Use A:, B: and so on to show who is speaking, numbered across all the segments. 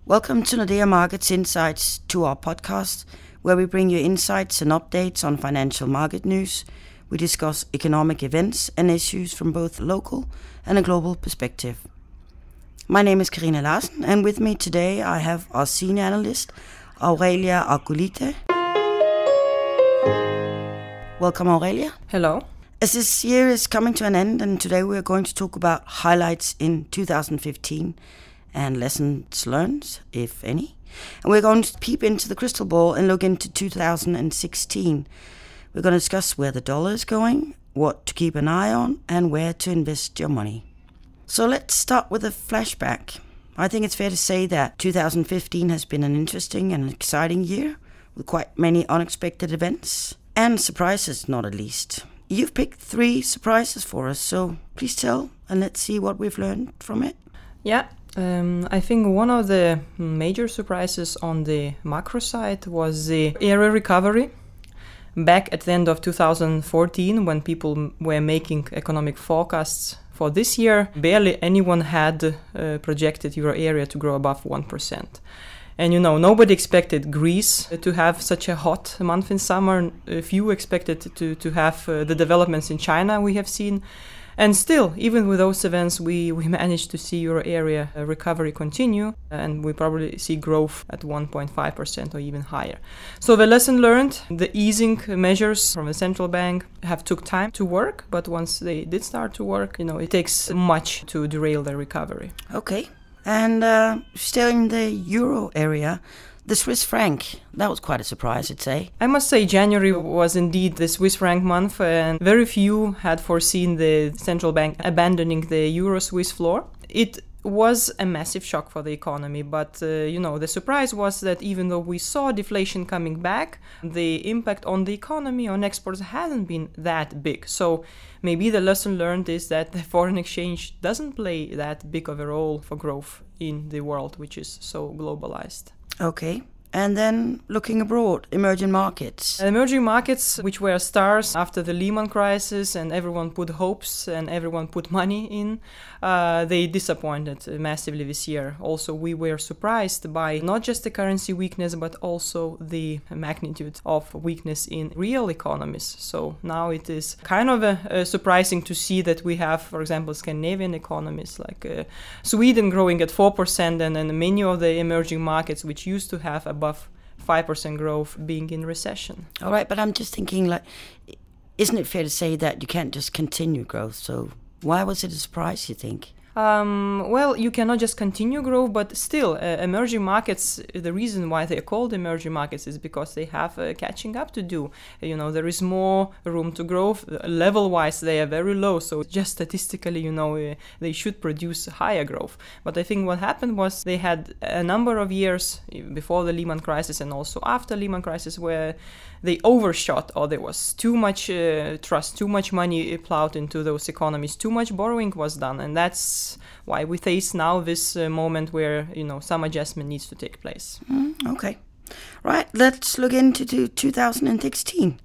A: Welcome to Nordea Markets Insights, to our podcast, where we bring you insights and updates on financial market news. We discuss economic events and issues from both local and a global perspective. My name is Karina Larsen, and with me today I have our senior analyst, Aurelia Argulite. Welcome, Aurelia.
B: Hello.
A: As this year is coming to an end, and today we are going to talk about highlights in 2015 and lessons learned, if any. And we're going to peep into the crystal ball and look into 2016. We're going to discuss where the dollar is going, what to keep an eye on, and where to invest your money. So let's start with a flashback. I think it's fair to say that 2015 has been an interesting and exciting year, with quite many unexpected events, and surprises, not at least. You've picked 3 surprises for us, so please tell, and let's see what we've learned from it.
B: Yeah. I think one of the major surprises on the macro side was the area recovery. Back at the end of 2014, when people were making economic forecasts for this year, barely anyone had projected euro area to grow above 1%. And nobody expected Greece to have such a hot month in summer. Few expected to have the developments in China we have seen. And still, even with those events, we managed to see euro area recovery continue, and we probably see growth at 1.5% or even higher. So the lesson learned, the easing measures from the central bank have took time to work, but once they did start to work, it takes much to derail the recovery.
A: Okay, and still in the euro area, the Swiss franc, that was quite a surprise, I'd say.
B: I must say January was indeed the Swiss franc month, and very few had foreseen the central bank abandoning the euro-Swiss floor. It was a massive shock for the economy, but the surprise was that even though we saw deflation coming back, the impact on the economy, on exports, hasn't been that big. So maybe the lesson learned is that the foreign exchange doesn't play that big of a role for growth in the world, which is so globalized.
A: Okay. And then looking abroad, emerging markets.
B: Emerging markets, which were stars after the Lehman crisis and everyone put hopes and everyone put money in, they disappointed massively this year. Also, we were surprised by not just the currency weakness, but also the magnitude of weakness in real economies. So now it is kind of surprising to see that we have, for example, Scandinavian economies like Sweden growing at 4%, and then many of the emerging markets which used to have above 5% growth being in recession.
A: All right, but I'm just thinking, isn't it fair to say that you can't just continue growth? So why was it a surprise, you think?
B: Well, you cannot just continue growth, but still, emerging markets, the reason why they are called emerging markets is because they have catching up to do. There is more room to grow. Level-wise, they are very low, so just statistically, they should produce higher growth. But I think what happened was they had a number of years before the Lehman crisis and also after Lehman crisis where they overshot, or there was too much trust, too much money plowed into those economies, too much borrowing was done, and that's why we face now this moment where some adjustment needs to take place.
A: Okay, right. Let's look into 2016.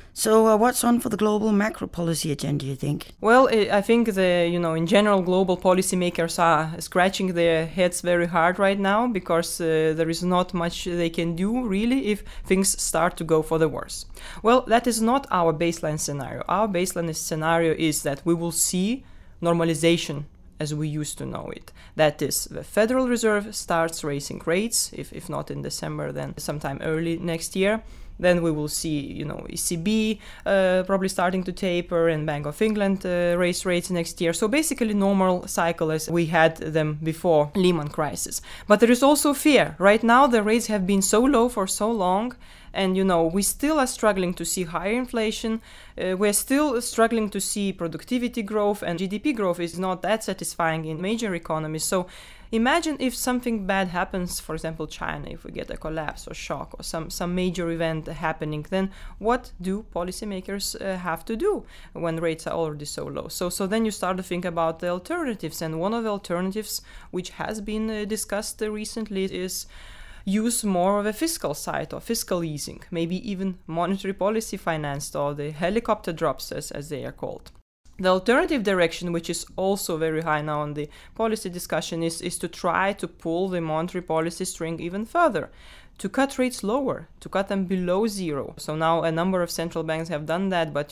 A: So what's on for the global macro policy agenda, you think?
B: Well, I think in general, global policymakers are scratching their heads very hard right now because there is not much they can do really if things start to go for the worse. Well, that is not our baseline scenario. Our baseline scenario is that we will see normalization as we used to know it. That is, the Federal Reserve starts raising rates, if not in December, then sometime early next year. Then we will see, ECB probably starting to taper and Bank of England raise rates next year. So basically normal cycle as we had them before Lehman crisis. But there is also fear. Right now the rates have been so low for so long, and we still are struggling to see higher inflation. We're still struggling to see productivity growth, and GDP growth is not that satisfying in major economies. So imagine if something bad happens, for example, China, if we get a collapse or shock or some major event happening, then what do policymakers have to do when rates are already so low? So then you start to think about the alternatives, and one of the alternatives which has been discussed recently is use more of a fiscal side or fiscal easing, maybe even monetary policy financed or the helicopter drops as they are called. The alternative direction, which is also very high now on the policy discussion, is to try to pull the monetary policy string even further, to cut rates lower, to cut them below zero. So now a number of central banks have done that, but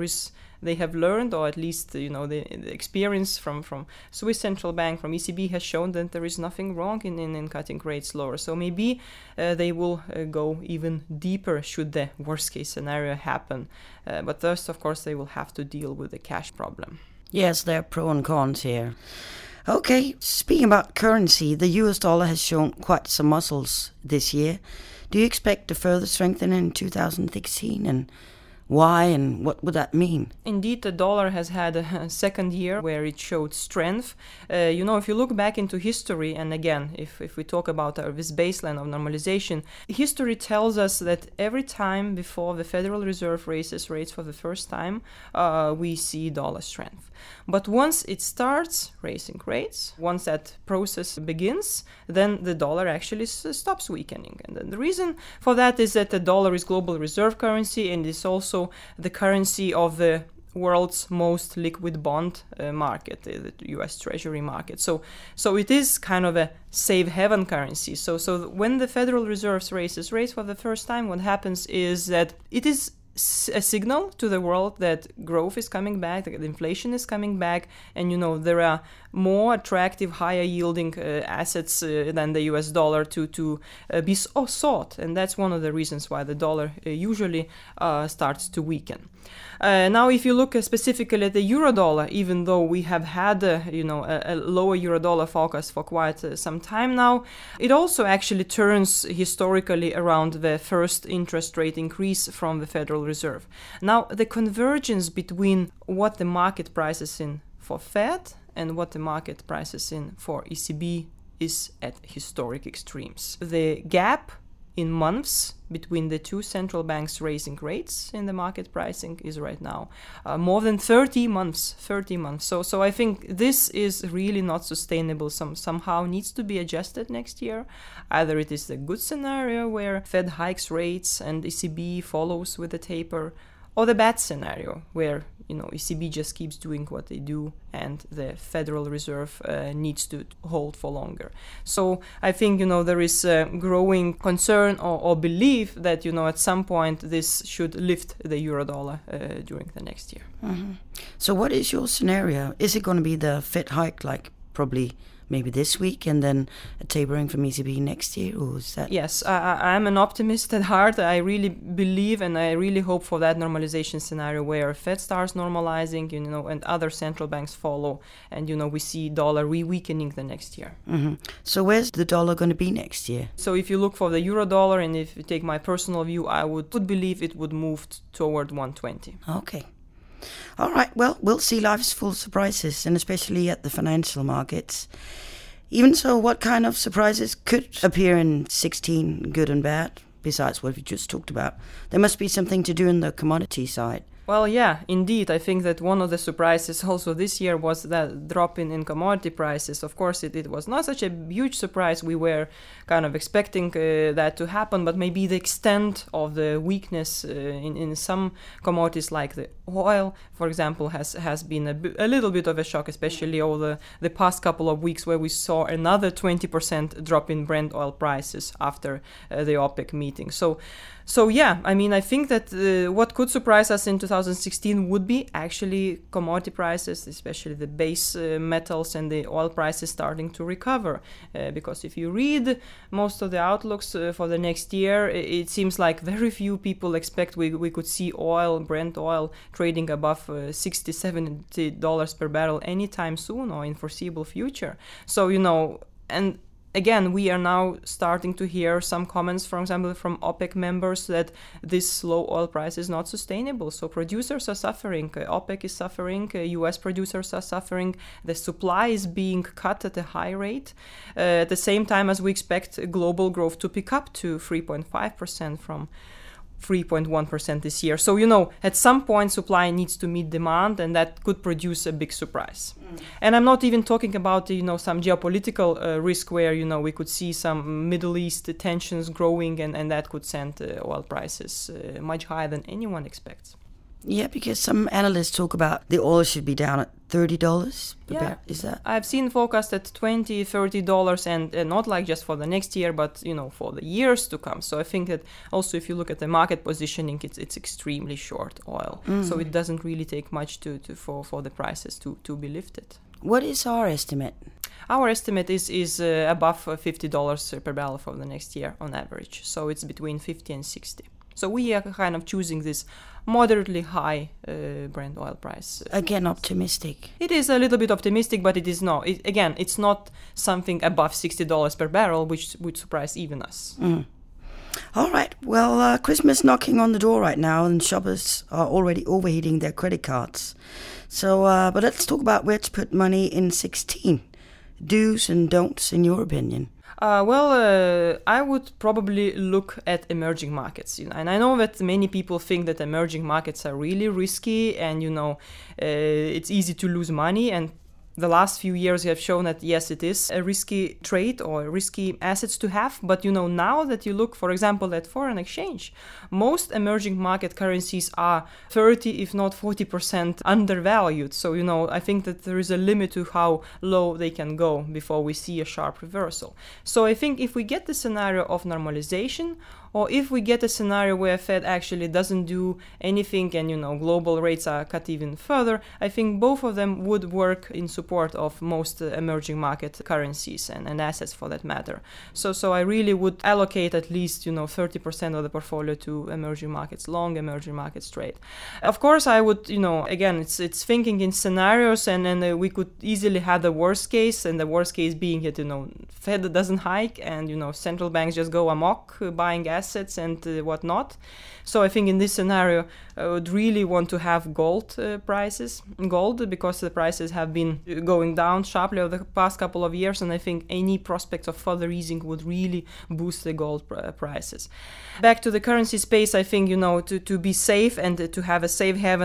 B: they have learned, or at least the experience from Swiss Central Bank, from ECB, has shown that there is nothing wrong in cutting rates lower. So maybe they will go even deeper should the worst case scenario happen. But first, of course, they will have to deal with the cash problem.
A: Yes, there are pros and cons here. Okay, speaking about currency, the US dollar has shown quite some muscles this year. Do you expect a further strengthening in 2016, and why, and what would that mean?
B: Indeed, the dollar has had a second year where it showed strength. If you look back into history, and again, if we talk about this baseline of normalization, history tells us that every time before the Federal Reserve raises rates for the first time, we see dollar strength. But once it starts raising rates, once that process begins, then the dollar actually stops weakening. And then the reason for that is that the dollar is global reserve currency and is also the currency of the world's most liquid bond market, the US Treasury market. So it is kind of a safe haven currency. So when the Federal Reserve raises rates for the first time, what happens is that it is a signal to the world that growth is coming back, that inflation is coming back, and there are more attractive, higher yielding assets than the US dollar to be sought. And that's one of the reasons why the dollar usually starts to weaken. Now, if you look specifically at the euro dollar, even though we have had a lower euro dollar focus for quite some time now, it also actually turns historically around the first interest rate increase from the Federal Reserve. Now, the convergence between what the market prices in for Fed and what the market prices in for ECB is at historic extremes. The gap in months between the two central banks raising rates in the market pricing is right now more than 30 months. So I think this is really not sustainable. Somehow needs to be adjusted next year. Either it is the good scenario where Fed hikes rates and ECB follows with a taper, or the bad scenario where ECB just keeps doing what they do and the Federal Reserve needs to hold for longer. So I think there is a growing concern or belief that at some point this should lift the euro dollar during the next year.
A: Mm-hmm. So what is your scenario? Is it going to be the Fed hike, like probably maybe this week, and then a tapering from ECB next year, or is that?
B: Yes, I'm an optimist at heart. I really believe and I really hope for that normalization scenario where Fed starts normalizing, and other central banks follow, and we see dollar re-weakening the next year.
A: Mm-hmm. So where's the dollar going to be next year?
B: So if you look for the euro dollar, and if you take my personal view, I would believe it would move toward 120.
A: Okay. All right, well, we'll see. Life is full of surprises, and especially at the financial markets. Even so, what kind of surprises could appear in 16, good and bad, besides what we just talked about? There must be something to do in the commodity side.
B: Well, yeah, indeed. I think that one of the surprises also this year was that drop in commodity prices. Of course, it was not such a huge surprise. We were kind of expecting that to happen, but maybe the extent of the weakness in some commodities like the oil, for example, has been a little bit of a shock, especially over the past couple of weeks where we saw another 20% drop in Brent oil prices after the OPEC meeting. So yeah, I mean, I think that what could surprise us in 2016 would be actually commodity prices, especially the base metals and the oil prices starting to recover. Because if you read most of the outlooks for the next year, it seems like very few people expect we could see Brent oil trading above $60, $70 per barrel anytime soon or in foreseeable future. So, and again, we are now starting to hear some comments, for example, from OPEC members that this low oil price is not sustainable. So producers are suffering, OPEC is suffering, US producers are suffering, the supply is being cut at a high rate, at the same time as we expect global growth to pick up to 3.5% from 3.1% this year. So, at some point supply needs to meet demand, and that could produce a big surprise. And I'm not even talking about, some geopolitical risk where, we could see some Middle East tensions growing and that could send oil prices much higher than anyone expects.
A: Yeah, because some analysts talk about the oil should be down at $30 per barrel. Is that?
B: I've seen forecast at $20, $30, and not like just for the next year, but for the years to come. So I think that also if you look at the market positioning, it's extremely short oil. So it doesn't really take much for the prices to be lifted.
A: What is our estimate?
B: Our estimate is above $50 per barrel for the next year on average. So it's between 50 and 60. So we are kind of choosing this moderately high Brent oil price.
A: Again, optimistic.
B: It is a little bit optimistic, but it is not. It's not something above $60 per barrel, which would surprise even us.
A: All right. Well, Christmas knocking on the door right now, and shoppers are already overheating their credit cards. So, but let's talk about where to put money in 2016. Do's and don'ts, in your opinion.
B: I would probably look at emerging markets, and I know that many people think that emerging markets are really risky, and it's easy to lose money. And the last few years have shown that yes, it is a risky trade or risky assets to have. But now that you look, for example, at foreign exchange, most emerging market currencies are 30, if not 40% undervalued. So I think that there is a limit to how low they can go before we see a sharp reversal. So I think if we get the scenario of normalization, or if we get a scenario where Fed actually doesn't do anything and global rates are cut even further, I think both of them would work in support of most emerging market currencies and assets for that matter. So I really would allocate at least 30% of the portfolio to emerging markets long, emerging markets trade. Of course, I would again it's thinking in scenarios, and then we could easily have the worst case, and the worst case being that Fed doesn't hike and central banks just go amok buying assets and whatnot. So I think in this scenario, I would really want to have gold because the prices have been going down sharply over the past couple of years, and I think any prospect of further easing would really boost the gold prices. Back to the currency space, I think to be safe and to have a safe haven,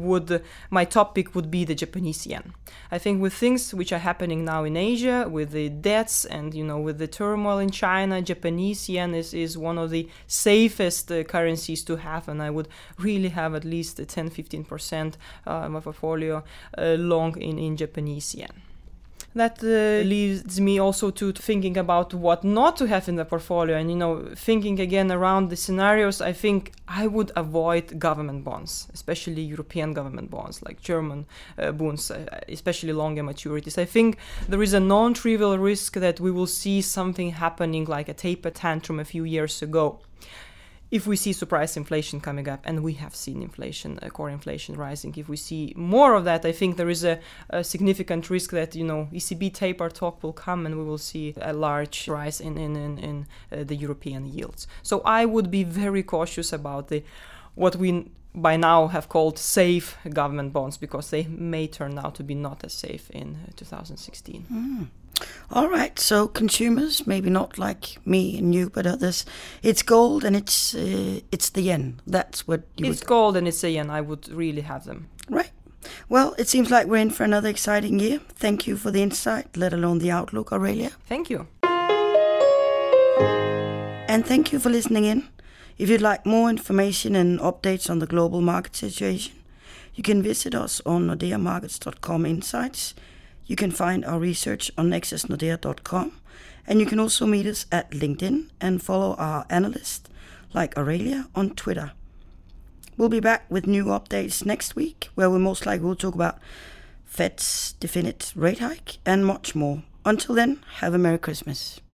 B: my top pick would be the Japanese yen. I think with things which are happening now in Asia, with the debts and with the turmoil in China, Japanese yen is one of the safest currencies to have, and I would really have at least 10-15% of my portfolio long in Japanese yen. That leads me also to thinking about what not to have in the portfolio, and thinking again around the scenarios. I think I would avoid government bonds, especially European government bonds like German bonds, especially longer maturities. I think there is a non-trivial risk that we will see something happening like a taper tantrum a few years ago. If we see surprise inflation coming up, and we have seen inflation, core inflation rising, if we see more of that, I think there is a significant risk that ECB taper talk will come, and we will see a large rise in the European yields. So I would be very cautious about what we by now have called safe government bonds, because they may turn out to be not as safe in 2016.
A: All right, so consumers, maybe not like me and you, but others, it's gold and it's the yen. That's what you
B: It's gold and it's the yen. I would really have them.
A: Right. Well, it seems like we're in for another exciting year. Thank you for the insight, let alone the outlook, Aurelia.
B: Thank you.
A: And thank you for listening in. If you'd like more information and updates on the global market situation, you can visit us on nordeamarkets.com insights. You can find our research on nexusnordea.com, and you can also meet us at LinkedIn and follow our analysts like Aurelia on Twitter. We'll be back with new updates next week, where we most likely will talk about Fed's definite rate hike and much more. Until then, have a Merry Christmas.